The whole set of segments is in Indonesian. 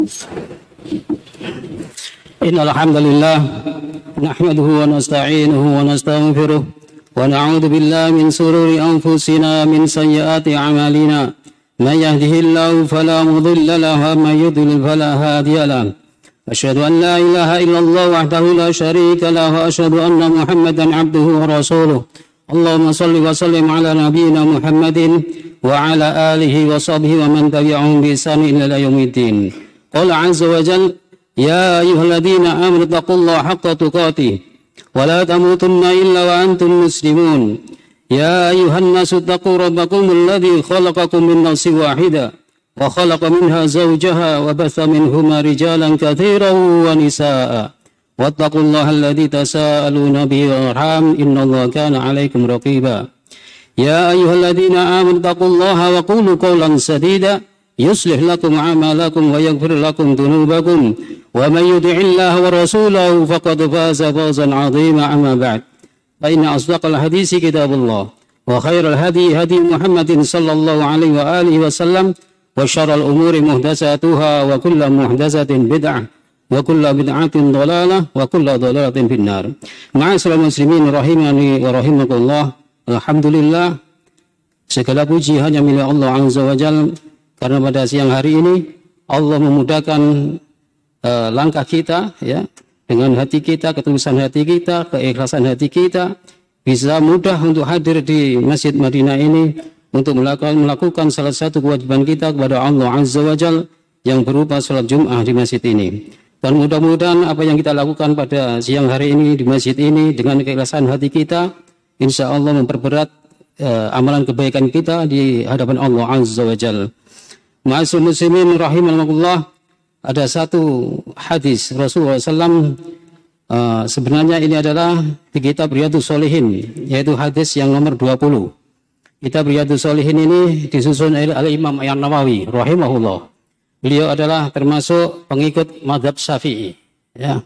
Innal hamdalillah nahmaduhu wa nasta'inuhu wa nastaghfiruh wa na'udzu billahi min shururi anfusina min sayyiati a'malina may yahdihillahu fala mudilla lahu wa may yudlil fala hadiya lahu asyhadu an la ilaha illallah wahdahu la syarika lahu wa asyhadu anna muhammadan abduhu wa rasuluh Allahumma shalli wa sallim ala nabiyyina Muhammadin wa ala alihi wa sahbihi wa man tabi'ahum bi ihsan ila yaumiddin. Qala 'azza wa jalla ya ayyuhalladzina amanu taqullaha haqqa tuqatih wa la tamutunna illa wa antum muslimun. Ya ayyuhan nasu taqu rabbakum alladzi khalaqakum min nafsin wahidah wa khalaqa minha zawjaha wa batha minhuma rijalan katsiran wa nisaa'a. Wattaqullaha alladzi tasaaluna bihi wal arham innallaha kana 'alaikum raqiba. Ya ayyuhalladzina amanu taqullaha wa qulu qawlan sadida yuslih lakum a'malakum wa yaghfir lakum dhunubakum wa may yuti'illaha wa rasulahu faqad faza fawzan 'azima amma ba'd. Fa inna asdaqal hadisi kitabullah wa khairal hadi hadi Muhammadin sallallahu alaihi wa alihi wasallam wa syarral umuri muhdatsatuha wa kullu muhdatsatin bid'ah wa kullu bid'atin dhalalah wa kullu dhalalatin finnar. Ma'asyiral muslimin rahimani wa rahimakumullah. Alhamdulillah, segala puji hanya milik Allah Azza wa Jalla, karena pada siang hari ini Allah memudahkan langkah kita, ya, dengan hati kita, ketulusan hati kita, keikhlasan hati kita, bisa mudah untuk hadir di Masjid Madinah ini untuk melakukan salah satu kewajiban kita kepada Allah Azza wa Jalla yang berupa salat Jum'ah di masjid ini. Dan mudah-mudahan apa yang kita lakukan pada siang hari ini di masjid ini dengan keikhlasan hati kita, insya Allah memperberat amalan kebaikan kita di hadapan Allah Azza wa Jalla. Ma'asyiral muslimin rahimakumullah, ada satu hadis Rasulullah SAW, sebenarnya ini adalah di kitab Riyadhus Shalihin, yaitu hadis yang nomor 20. Kitab Riyadhus Shalihin ini disusun oleh Imam An-Nawawi rahimahullah. Beliau adalah termasuk pengikut mazhab Syafi'i, ya.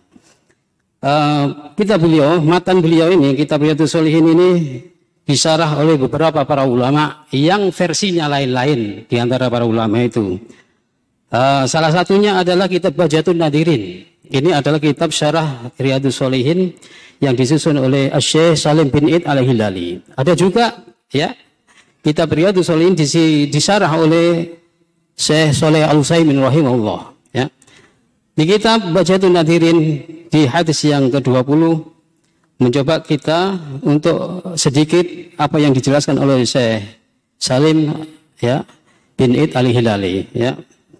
Kitab beliau, matan beliau ini, kitab Riyadhus Shalihin ini disarah oleh beberapa para ulama yang versinya lain-lain di antara para ulama itu. Salah satunya adalah kitab Bahjatun Nadirin. Ini adalah kitab syarah Riyadhus Shalihin yang disusun oleh Syekh Salim bin Id al-Hilali. Ada juga, ya, kitab Riyadhus Shalihin disarah oleh Syekh Shalih Al-Utsaimin rahimahullah, ya. Di kitab Bahjatun Nadirin di hadis yang ke-20 mencoba kita untuk sedikit apa yang dijelaskan oleh Syekh Salim, ya, bin Id al-Hilali, ya.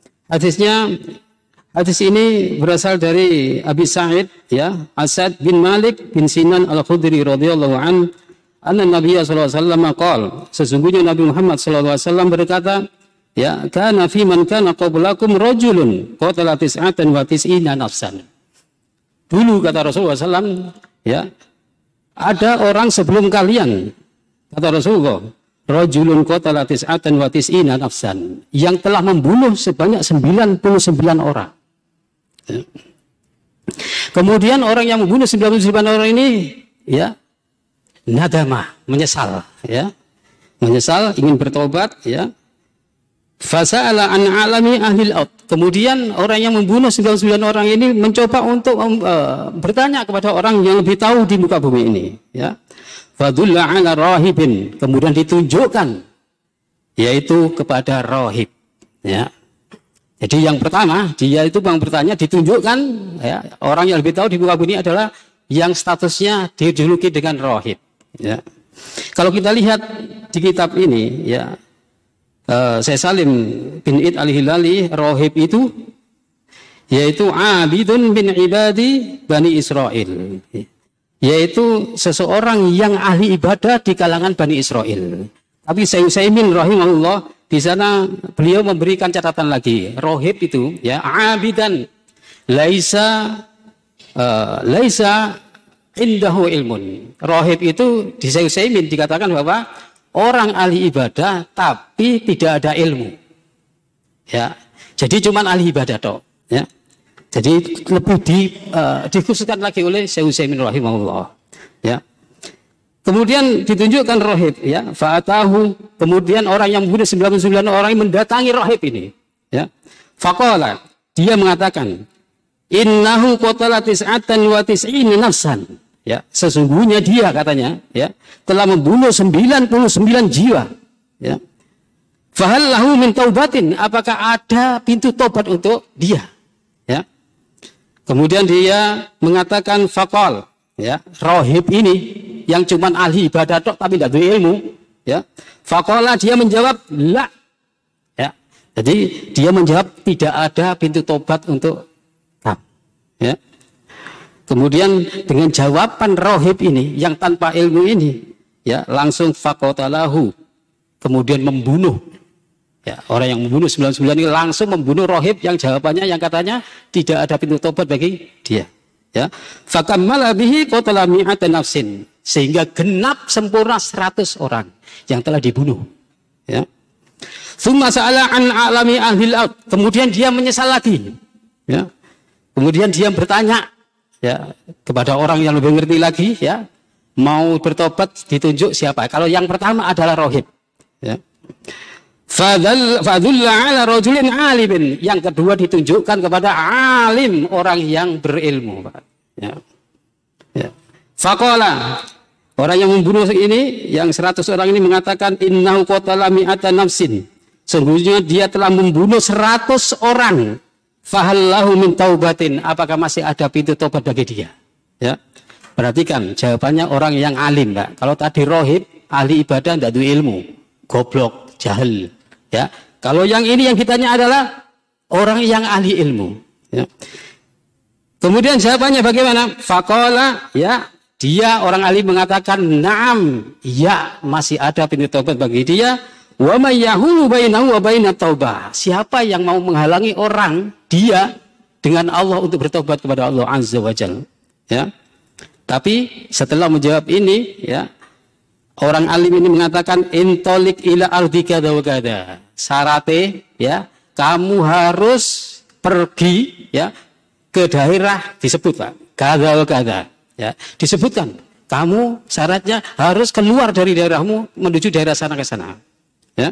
Hadis ini berasal dari Abi Sa'id, ya, Asad bin Malik bin Sinan al-Khudri radhiyallahu an, anna Nabi sallallahu alaihi wasallam qala, sesungguhnya Nabi Muhammad sallallahu alaihi wasallam berkata, ya, kana fi man kana qablakum rajulun qatala tis'atan wa tis'ina nafsan. Dulu kata Rasulullah SAW, ya, ada orang sebelum kalian, kata Rasulullah, rajulun qatala tis'atan wa tis'ina nafsan, yang telah membunuh sebanyak 99 orang. Ya. Kemudian orang yang membunuh 99 orang ini, ya, nadama, menyesal, ya, menyesal, ingin bertobat, ya. Fasa'ala an alami ahlil ard. Kemudian orang yang membunuh 99 orang ini mencoba untuk bertanya kepada orang yang lebih tahu di muka bumi ini, ya. Fadulla ala rahibin, kemudian ditunjukkan yaitu kepada rahib, ya. Jadi yang pertama, dia itu yang bertanya ditunjukkan, ya, orang yang lebih tahu di muka bumi adalah yang statusnya dijuluki dengan rahib, ya. Kalau kita lihat di kitab ini, ya, Syekh Salim bin Id al-Hilali, rohib itu yaitu abidun bin ibadi Bani Israel, yaitu seseorang yang ahli ibadah di kalangan Bani Israel. Tapi Syekh Utsaimin rahimahullah di sana beliau memberikan catatan lagi, rohib itu, ya, abidan laisa indahu ilmun. Rohib itu di Syekh Utsaimin dikatakan bahwa orang ahli ibadah tapi tidak ada ilmu, ya. Jadi cuma ahli ibadah toh, ya. Jadi lebih dikhususkan lagi oleh Syekh Utsaimin rahimahullah, ya. Kemudian ditunjukkan rohib, ya, fa'atahu, kemudian orang yang membunuh 99 orang mendatangi rohib ini, ya. Faqala, dia mengatakan, innahu qatala tis'atan wa tis'ina nafsan. Ya, sesungguhnya dia katanya ya telah membunuh 99 jiwa. Ya. Fahal lahu min taubatin, apakah ada pintu tobat untuk dia? Ya. Kemudian dia mengatakan faqal, ya, rohib ini yang cuman ahli ibadah tok tapi tidak ada ilmu, ya. Faqala, dia menjawab la. Ya. Jadi dia menjawab tidak ada pintu tobat untuk kamu. Ya. Kemudian dengan jawaban rohib ini yang tanpa ilmu ini, ya, langsung faqatalahu, kemudian membunuh. Ya, orang yang membunuh 99 ini langsung membunuh rohib yang jawabannya yang katanya tidak ada pintu tobat bagi dia. Ya, fakammala bihi qatala mi'atan nafsin, sehingga genap sempurna 100 orang yang telah dibunuh. Ya. Tsumma sa'ala an a'lami ahlil ard, kemudian dia menyesal lagi. Ya. Kemudian dia bertanya, ya, kepada orang yang lebih ngerti lagi, ya, mau bertobat ditunjuk siapa? Kalau yang pertama adalah rohib. Ya. Fadhulla ala rajulin alimin, yang kedua ditunjukkan kepada alim, orang yang berilmu. Ya. Ya. Faqala, orang yang membunuh ini, yang 100 orang ini mengatakan innahu qatala mi'atan nafsin, sesungguhnya dia telah membunuh 100 orang. Fahallahu min taubatin, apakah masih ada pintu tobat bagi dia? Ya. Perhatikan jawabannya orang yang alim, Pak. Kalau tadi rohib, ahli ibadah, tidak ada ilmu, goblok, jahil. Ya. Kalau yang ini yang ditanya adalah orang yang ahli ilmu. Ya. Kemudian jawabannya bagaimana? Faqala, ya, dia orang alim mengatakan na'am, ya, masih ada pintu tobat bagi dia. Wa may yahulu bainahu wa bainat taubah, siapa yang mau menghalangi orang dia dengan Allah untuk bertobat kepada Allah Azza wa Jalla. Ya. Tapi setelah menjawab ini, ya, orang alim ini mengatakan intolik ila ardi kada wa kada. Syaratnya, ya, kamu harus pergi, ya, ke daerah disebut, Pak, kada wa kada. Ya, disebutkan kamu syaratnya harus keluar dari daerahmu menuju daerah sana ke sana. Ya.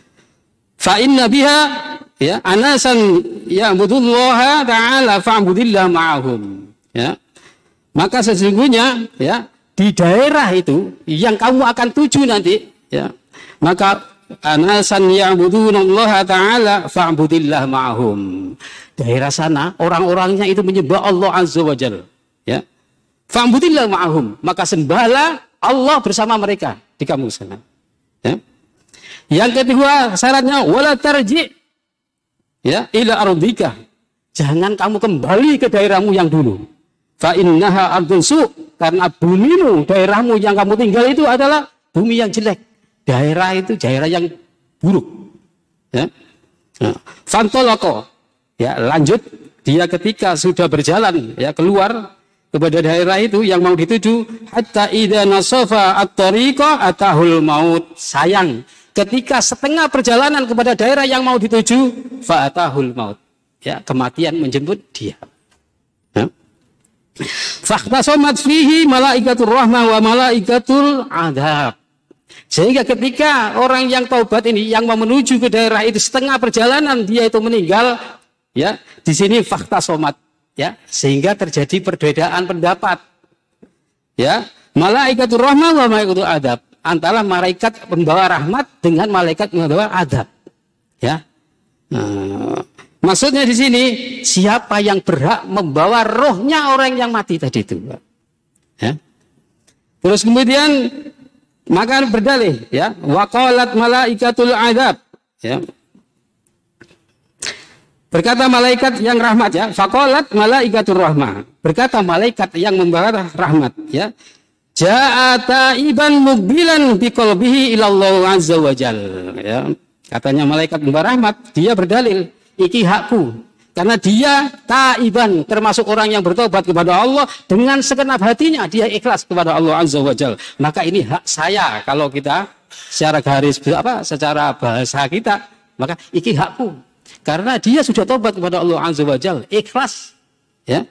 Fa inna biha, ya, anasan ya'budullaha ta'ala fa'budillah ma'ahum. Ya. Maka sesungguhnya, ya, di daerah itu yang kamu akan tuju nanti, ya, maka anasan ya'budullaha ta'ala fa'budillah ma'ahum. Daerah sana orang-orangnya itu menyembah Allah Azza wa Jalla. Ya. Fa'budillah ma'ahum, maka sembahlah Allah bersama mereka di kamu sana. Ya. Yang kedua syaratnya wala tarji, ya, ila ardika, jangan kamu kembali ke daerahmu yang dulu. Fa innaha ardun su, karena bumimu, daerahmu yang kamu tinggal itu adalah bumi yang jelek. Daerah itu daerah yang buruk. Ya. Nah, fantolako, ya, lanjut dia ketika sudah berjalan, ya, keluar kepada daerah itu yang mau dituju, hatta idza nasafa at-tariqa atahul maut, sayang, ketika setengah perjalanan kepada daerah yang mau dituju, fa'atahul maut, ya, kematian menjemput dia. Ya. Fakhtasamat fihi malaikatur rahmah wa malaikatul adab. Sehingga ketika orang yang taubat ini yang mau menuju ke daerah itu setengah perjalanan dia itu meninggal, ya, di sini fakhtasamat, ya, sehingga terjadi perbedaan pendapat. Ya, malaikatur rahmah wa malaikatul adab, antara malaikat pembawa rahmat dengan malaikat pembawa adab. Ya. Nah, maksudnya di sini siapa yang berhak membawa rohnya orang yang mati tadi itu. Ya. Terus kemudian maka berdalih, ya, waqalat malaikatul adab, ya. Berkata malaikat yang rahmat, ya, faqalat malaikatur rahmah, berkata malaikat yang membawa rahmat, ya, ja'a taiban muqbilan biqalbihi ilallah azza wa jalla, ya. Katanya malaikat membawa rahmat, dia berdalil, iki hakku, karena dia taiban, termasuk orang yang bertobat kepada Allah dengan segenap hatinya, dia ikhlas kepada Allah azza wa jalla. Maka ini hak saya, kalau kita secara garis secara bahasa kita, maka iki hakku, karena dia sudah tobat kepada Allah azza wa jalla, ikhlas, ya.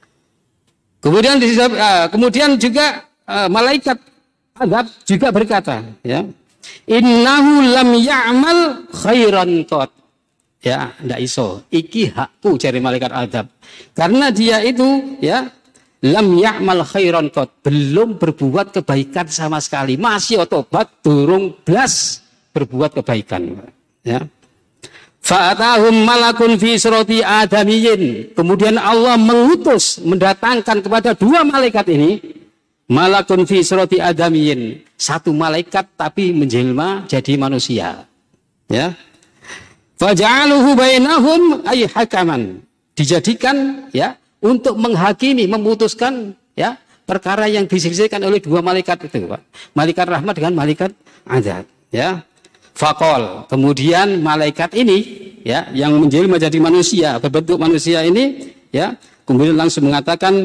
Kemudian juga malaikat adab juga berkata, ya, innahu lam ya'mal khairan qat, Ya, ndak iso. Iki hakku jari malaikat azab. Karena dia itu ya lam ya'mal khairan qad, belum berbuat kebaikan sama sekali. Masih otobat durung blas berbuat kebaikan. Ya. Fa'atahum malakun fi surati adamiyyin. Kemudian Allah mengutus, mendatangkan kepada dua malaikat ini, malakun fi surati adamiyyin. Satu malaikat tapi menjelma jadi manusia. Ya. Faja'aluhu bainahum ay hakaman. Dijadikan ya untuk menghakimi, memutuskan ya perkara yang diselesaikan oleh dua malaikat itu, Pak. Malaikat rahmat dengan malaikat azab, ya. Faqol, kemudian malaikat ini ya yang menjelma menjadi manusia, berbentuk manusia ini ya, kemudian langsung mengatakan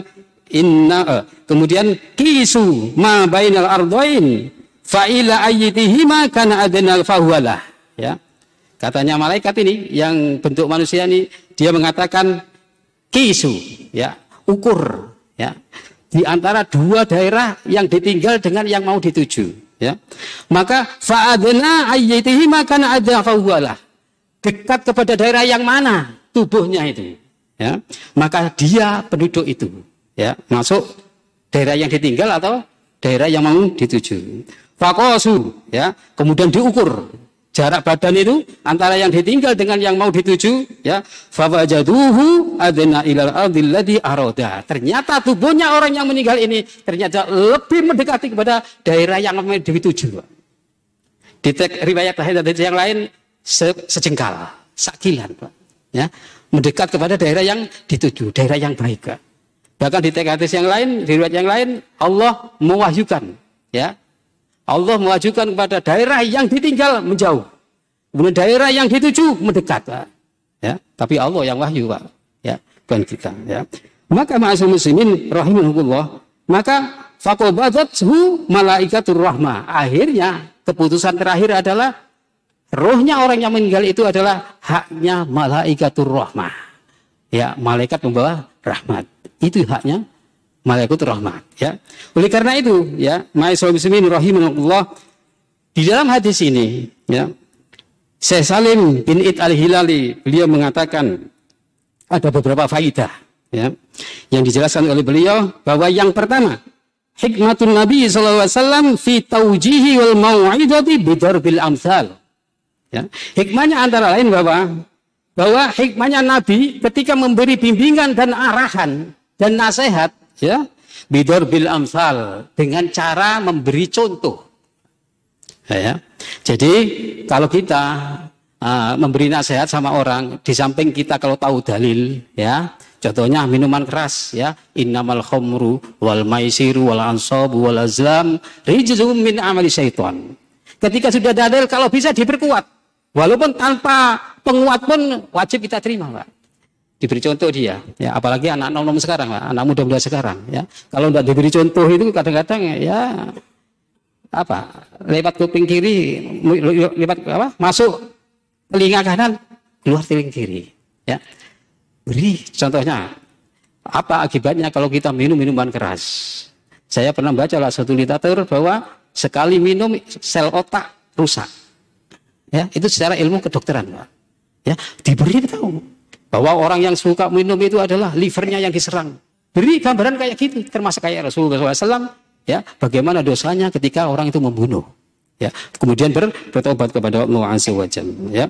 kemudian kisu ma bainal ardain fa ila ayyitihima kana adnal fahuwalah, ya. Katanya malaikat ini yang bentuk manusia ini, dia mengatakan kisu, ya, ukur, ya, di antara dua daerah yang ditinggal dengan yang mau dituju, ya. Maka fa'adna ayyatihi makana adza fahuwalah, dekat kepada daerah yang mana tubuhnya itu, ya. Maka dia penduduk itu, ya, masuk daerah yang ditinggal atau daerah yang mau dituju. Faqasu, ya, kemudian diukur jarak badan itu antara yang ditinggal dengan yang mau dituju, ya. Fawajaduhu adna ilal ardil ladzi arada. Ternyata tubuhnya orang yang meninggal ini ternyata lebih mendekati kepada daerah yang mau dituju. Di riwayat hadis yang lain sejengkal, sakilan, Pak. Ya, mendekat kepada daerah yang dituju, daerah yang baik. Bahkan di hadis yang lain, di riwayat yang lain, Allah mewahyukan, ya. Allah mewajukan kepada daerah yang ditinggal menjauh, kemudian daerah yang dituju mendekat, Pak. Ya, tapi Allah yang wahyu, Pak. Ya, bukan kita. Ya. Maka ma'asyiral muslimin rahimahullah, maka faqabadathu malaikatur rahmah. Akhirnya keputusan terakhir adalah rohnya orang yang meninggal itu adalah haknya malaikatur rahmah. Ya, malaikat membawa rahmat. Itu haknya malaikat rahmat, ya. Oleh karena itu, ya, ma'asyiral muslimin rahimahullah, di dalam hadis ini, ya, Syekh Salim bin Id al-Hilali beliau mengatakan ada beberapa faidah, ya, yang dijelaskan oleh beliau bahwa yang pertama, hikmatun Nabi sallallahu alaihi wasallam fi taujihi wal mau'izati bidarbil amsal. Ya, hikmahnya antara lain bahwa hikmahnya Nabi ketika memberi bimbingan dan arahan dan nasihat, ya, bidarbil amsal, dengan cara memberi contoh. Ya. Jadi kalau kita memberi nasihat sama orang, di samping kita kalau tahu dalil, ya, contohnya minuman keras, ya, innamal khamru wal maisiru wal ansabu wal azlam rijzum min amali syaitan. Ketika sudah dalil, kalau bisa diperkuat, walaupun tanpa penguat pun wajib kita terima, Pak. Diberi contoh dia, ya, apalagi anak nom sekarang, Pak, anak muda-muda sekarang, ya. Kalau tidak diberi contoh itu kadang-kadang ya apa, lewat kuping kiri, lewat apa, masuk telinga kanan, keluar telinga kiri, ya. Beri contohnya, apa akibatnya kalau kita minum minuman keras. Saya pernah baca lah satu literatur bahwa sekali minum sel otak rusak, ya, itu secara ilmu kedokteran, Pak. Ya, diberi tahu bahwa orang yang suka minum itu adalah livernya yang diserang. Beri gambaran kayak gitu, termasuk kayak Rasulullah SAW, ya, bagaimana dosanya ketika orang itu membunuh, ya, kemudian bertobat kepada Allah Azza wa Jalla, ya.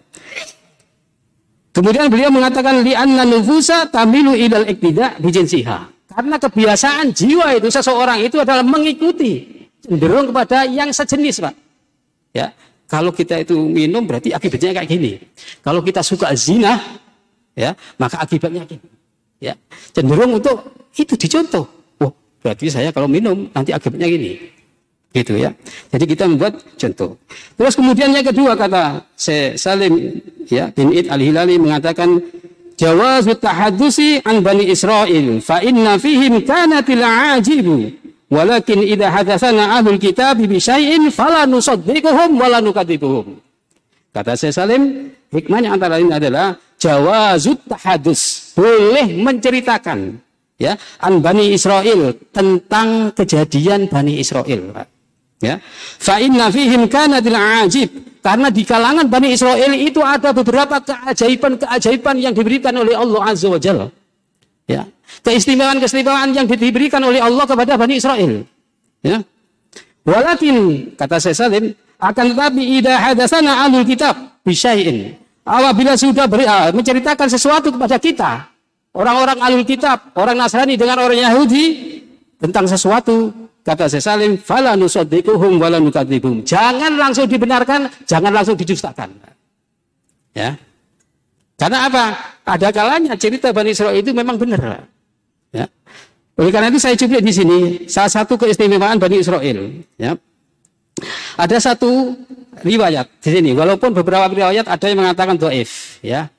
Kemudian beliau mengatakan li'anna nufusa tamilu ilal iktida bijinsiha. Karena kebiasaan jiwa itu seseorang itu adalah mengikuti, cenderung kepada yang sejenis, Pak. Ya, kalau kita itu minum berarti akibatnya kayak gini. Kalau kita suka zina, ya, maka akibatnya gini, ya, cenderung untuk itu dicontoh. Oh, berarti saya kalau minum nanti akibatnya gini, gitu, ya. Jadi kita membuat contoh. Terus kemudian yang kedua, kata Syekh Salim, ya, bin Id al-Hilali mengatakan jawazut tahaddusi an bani Israil fa inna fihim kanatil ajibu walakin idza hadatsana ahlul kitab bi syai'in fala nusaddiquhum wala nukadzibuhum. Kata Syekh Salim, hikmahnya antara lain adalah jawazut tahadus, boleh menceritakan, ya, an Bani Israel, tentang kejadian Bani Israel, Pak. Ya. Fa inna fihim kanatil ajib. Karena di kalangan Bani Israel itu ada beberapa keajaiban-keajaiban yang diberikan oleh Allah Azza wa Jalla. Ya. Keistimewaan-keistimewaan yang diberikan oleh Allah kepada Bani Israel. Ya. Walakin kata Syekh Salim, akan tetapi idza hadatsana ahlul kitab bisyai'in. Apabila sudah menceritakan sesuatu kepada kita, orang-orang ahlul kitab, orang Nasrani dengan orang Yahudi tentang sesuatu, kata Syekh Salim, fala nusaddiquhum wala nukadzibum. Jangan langsung dibenarkan, jangan langsung didustakan. Ya. Karena apa? Ada kalanya cerita Bani Israil itu memang benar. Ya. Oleh karena itu saya cuplik di sini salah satu keistimewaan Bani Israil. Ya. Ada satu riwayat di sini, walaupun beberapa riwayat ada yang mengatakan dhaif. Ya.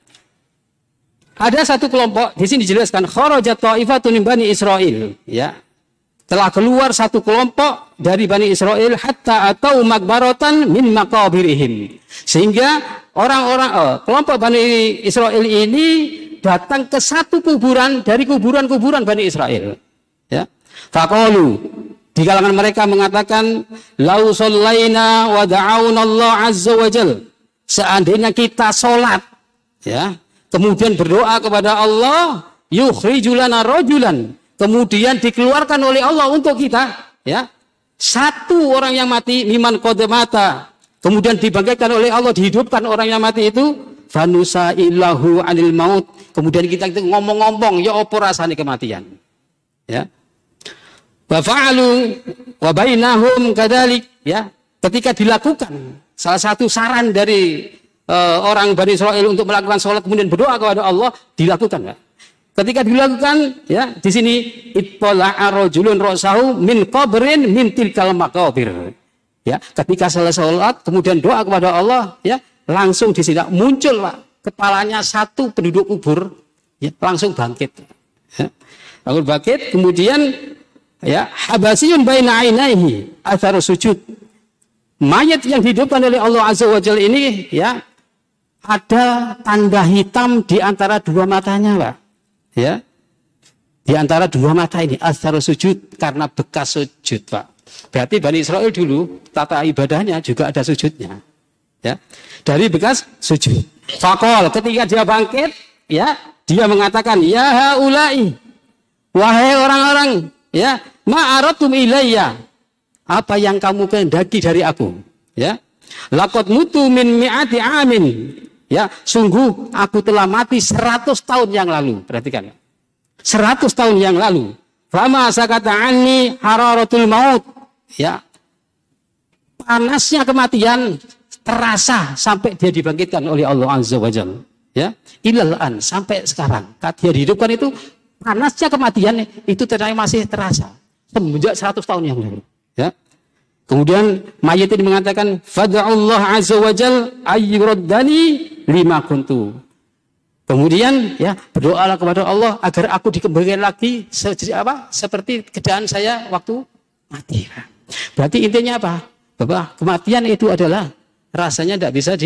Ada satu kelompok di sini dijelaskan kharajat ta'ifatun min Bani Israil. Ya. Telah keluar satu kelompok dari Bani Israel hatta atau makbaratan min maqabirihim. Sehingga orang-orang kelompok Bani Israel ini datang ke satu kuburan dari kuburan-kuburan Bani Israel. Ya. Faqalu, di kalangan mereka mengatakan lau shallaina wa da'auna Allah azza wa jal. Seandainya kita salat, ya, kemudian berdoa kepada Allah, yukhrijulana rajulan, kemudian dikeluarkan oleh Allah untuk kita, ya, satu orang yang mati miman qadamata, kemudian dibangkitkan oleh Allah, dihidupkan orang yang mati itu, fanusa illahu anil maut, kemudian kita ngomong-ngomong ya apa rasane kematian, ya, wa fa'alu wa bainahum kadzalik, ya, ketika dilakukan salah satu saran dari orang Bani Israil untuk melakukan sholat kemudian berdoa kepada Allah, dilakukan, ya. Ketika dilakukan, ya, di sini ittala'a rajulun ra'sahu min qabrin min tilkal maqabir. Ya, ketika selesai salat kemudian doa kepada Allah, ya, langsung di sini muncul, Pak, kepalanya satu penduduk kubur, ya, langsung bangkit. Ya. Langsung bangkit, kemudian, ya, habasiyun baina ainaihi athar sujud. Mayat yang dihidupkan oleh Allah Azza wa Jalla ini, ya, ada tanda hitam di antara dua matanya, Pak. Ya, di antara dua mata ini athar sujud, karena bekas sujud, Pak. Berarti Bani Israel dulu tata ibadahnya juga ada sujudnya, ya, dari bekas sujud. Faqal, ketika dia bangkit, ya, dia mengatakan, ya haulai, wahai orang-orang, ya, ma'aratum ilayya, apa yang kamu kehendaki dari aku, ya, laqad mutu min mi'ati amin. Ya, sungguh aku telah mati 100 tahun yang lalu. Perhatikan, 100 tahun yang lalu. Fama sakata anni hararatul maut. Ya, panasnya kematian terasa sampai dia dibangkitkan oleh Allah Azza wa Jalla. Ya, ilalan sampai sekarang. Dia dihidupkan itu panasnya kematian itu ternyata masih terasa semenjak 100 tahun yang lalu. Ya. Kemudian mayat ini mengatakan, fada'ullah azza wa jal ayyuraddani lima kuntu. Kemudian, ya, berdoalah kepada Allah agar aku dikembalikan lagi seperti keadaan saya waktu mati. Berarti intinya apa? Bahwa kematian itu adalah rasanya tidak bisa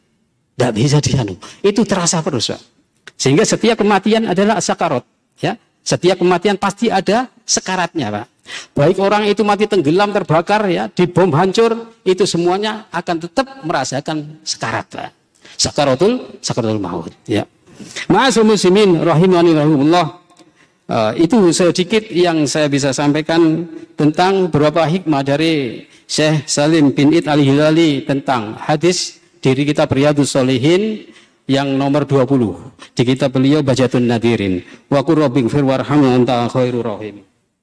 dianu. Itu terasa terus, Pak. Sehingga setiap kematian adalah sakarat, ya. Setiap kematian pasti ada sekaratnya, Pak. Baik orang itu mati tenggelam, terbakar, ya, dibom hancur, itu semuanya akan tetap merasakan sekarat, Pak. Sakaratul maut, ya. Ma'asyiral muslimin rahimani rahimullah. Itu sedikit yang saya bisa sampaikan tentang beberapa hikmah dari Syekh Salim bin Id al-Hilali tentang hadis dari kitab Riyadhus Shalihin yang nomor 20 di kitab beliau Bajatun Nadirin. Wa qur rabbighfir warhamna anta khairur rahim.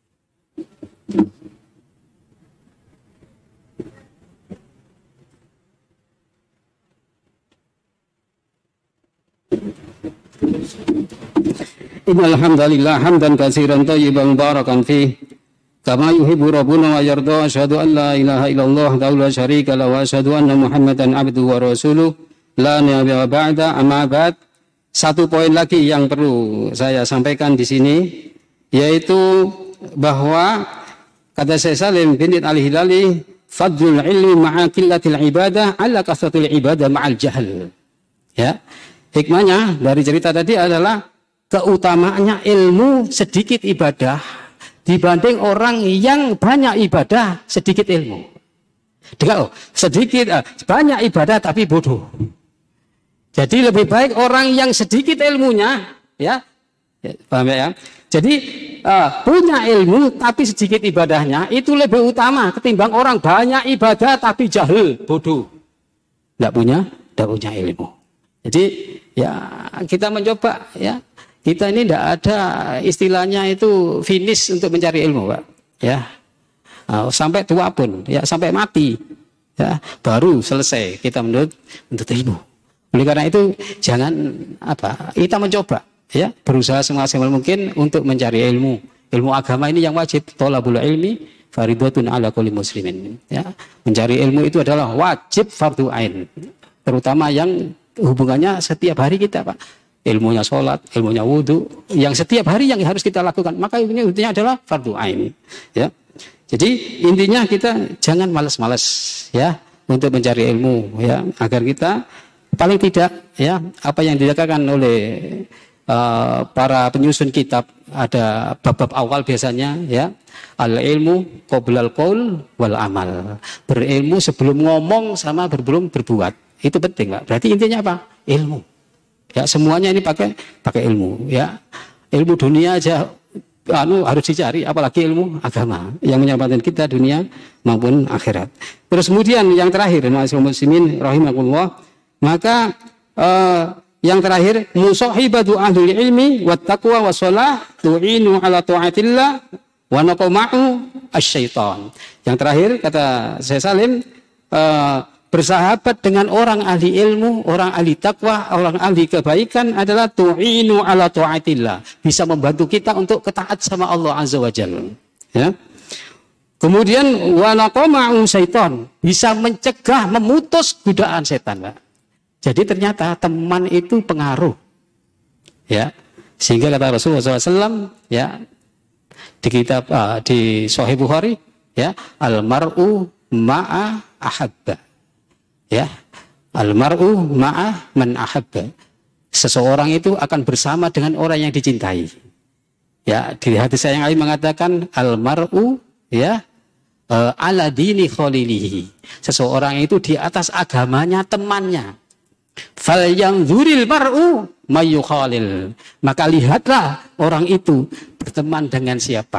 Innal hamdalillah hamdan katsiran thayyiban mubarakan fi kama yuhibbu rabbuna wa yarda. Asyhadu an la ilaha illallah la syarika lahu wa asyhadu anna Muhammadan abduhu wa rasuluh la nabiyya ba'da. Amma ba'd. Satu poin lagi yang perlu saya sampaikan di sini, yaitu bahwa kata Syekh Salim bin al-Hilali, fadlul ilmi ma'a qillatil ibadah ala kasratil ibadah ma'al jahl. Ya. Hikmahnya dari cerita tadi adalah keutamaannya ilmu sedikit ibadah dibanding orang yang banyak ibadah sedikit ilmu. Dengan sedikit, banyak ibadah tapi bodoh. Jadi lebih baik orang yang sedikit ilmunya, ya, paham ya? Jadi punya ilmu tapi sedikit ibadahnya itu lebih utama ketimbang orang banyak ibadah tapi jahil, bodoh, tidak punya ilmu. Jadi ya kita mencoba, ya, kita ini tidak ada istilahnya itu finish untuk mencari ilmu, Pak, ya. Sampai tua pun, ya, sampai mati, ya, baru selesai kita menuntut ilmu. Oleh karena itu jangan kita mencoba, ya, berusaha semaksimal mungkin untuk mencari ilmu. Ilmu agama ini yang wajib, thalabul ilmi fardhatun ala kulli muslimin, ya. Mencari ilmu itu adalah wajib fardu ain, terutama yang hubungannya setiap hari kita, Pak. Ilmunya sholat, ilmunya wudhu, yang setiap hari yang harus kita lakukan, maka ini intinya adalah fardu ain, ya. Jadi intinya kita jangan malas-malas, ya, untuk mencari ilmu, ya, agar kita paling tidak, ya, apa yang dikatakan oleh para penyusun kitab, ada bab-bab awal biasanya, ya, al ilmu qoblal qaul wal amal, berilmu sebelum ngomong sama sebelum berbuat, itu penting, Pak. Berarti intinya apa? Ilmu, ya, semuanya ini pakai ilmu, ya. Ilmu dunia aja harus dicari, apalagi ilmu agama yang menyelamatkan kita dunia maupun akhirat. Terus kemudian yang terakhir, muslimin rahimakumullah, maka yang terakhir, musahibatu ahli ilmi wat taqwa wassalah tu'inu ala ta'atillah wa naqma'u asyaitan. Yang terakhir kata saya Salim, bersahabat dengan orang ahli ilmu, orang ahli takwa, orang ahli kebaikan adalah tu'inu ala ta'atillah, bisa membantu kita untuk ketaat sama Allah Azza wa Jalla, ya. Kemudian wa naqma'u syaitan, bisa mencegah, memutus godaan setan, Pak. Jadi ternyata teman itu pengaruh, ya. Sehingga kata Rasulullah SAW, ya, di kitab di Sahih Bukhari, ya, al-mar'u ma'a ahabba, ya, al-mar'u ma'a man ahabba. Seseorang itu akan bersama dengan orang yang dicintai. Ya, di hadis saya yang lain mengatakan al-mar'u, ya, ala dini khalilihi. Seseorang itu di atas agamanya temannya. Fal yang dzuril mar'u mayyukhalil. Maka lihatlah orang itu berteman dengan siapa.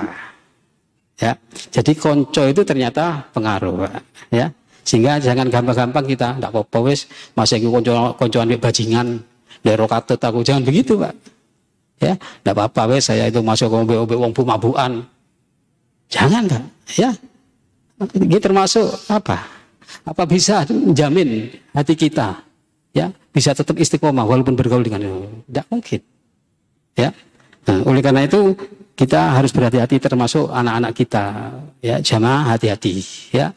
Ya. Jadi konco itu ternyata pengaruh, Pak, ya. Sehingga jangan gampang-gampang kita ndak apa-apa wis masih koncoan bajingan lero katut aku, jangan begitu, Pak. Ya, ndak apa-apa wis saya itu masuk ombe-ombe wong bumabukan. Jangan, Pak, ya. Ini termasuk apa? Apa bisa menjamin hati kita, ya, bisa tetap istiqomah walaupun bergaul dengan itu? Tidak mungkin, ya. Nah, oleh karena itu kita harus berhati-hati, termasuk anak-anak kita, ya, jamaah hati-hati, ya.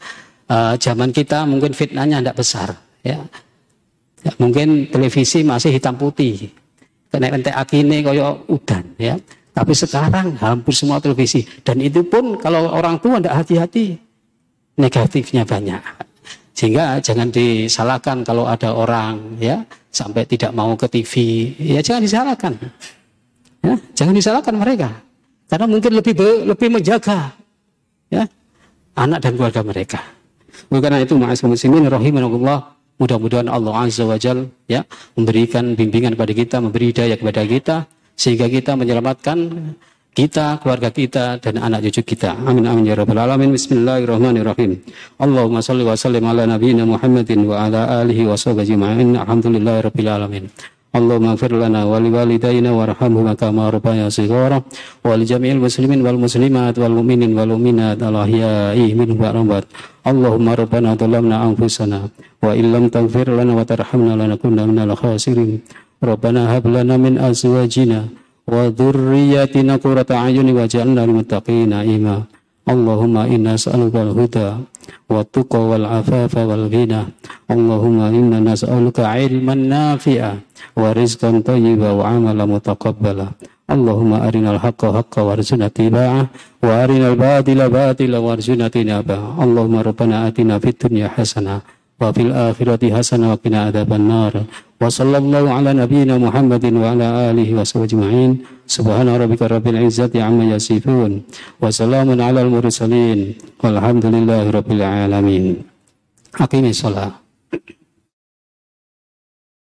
Zaman kita mungkin fitnahnya tidak besar, ya. Ya, mungkin televisi masih hitam putih, kena entek akine koyo udan, ya. Tapi sekarang hampir semua televisi, dan itu pun kalau orang tua tidak hati-hati, negatifnya banyak. Sehingga jangan disalahkan kalau ada orang, ya, sampai tidak mau ke TV, ya jangan disalahkan, ya, jangan disalahkan mereka, karena mungkin lebih menjaga, ya, anak dan keluarga mereka. Oleh karena itu, ma'asyiral muslimin rahimakumullah, mudah-mudahan Allah Azza wa Jalla, ya, memberikan bimbingan kepada kita, memberi hidayah kepada kita, sehingga kita menyelamatkan kita, keluarga kita, dan anak cucu kita. Amin amin ya rabbal alamin. Bismillahirrahmanirrahim. Allahumma salli wa sallim ala nabiyyina Muhammadin wa ala alihi wa sahbihi ajma'in. Alhamdulillahi rabbil alamin. Allahumma ighfir lana wa liwalidayna warhamhuma kama rabbayana shighara wa li jami'il muslimin wal muslimat wal mu'minin wal mu'minat al ahya'i minhum wal amwat. Allahumma rabbana dhalamna anfusana wa illam taghfir lana wa tarhamna lanakunanna minal khasirin. Rabbana hab lana min azwajina wa dzurriyyatina qurrata a'yunin waj'alna lil muttaqina imama. Allahumma inna nas'aluka al-huda wa tuqa wal afafa wal ghina. Allahumma inna nas'aluka ilman nafi'a wa rizqan thayyiban wa amalan mutaqabbala. Allahumma arinal haqqa haqqan warzuqna ittiba'ah wa arinal batila batilan warzuqna ijtinabah. Allahumma rabbana atina fid dunya hasanah wa fil akhirati hasanah wa qina adzabannar. Wa sallallahu ala nabiyyina Muhammadin wa ala alihi wa sahbihi ajma'in. Subhana rabbika rabbil izzati amma yasifun wa salamun alal mursalin walhamdulillahi rabbil alamin. Aqimis shalah.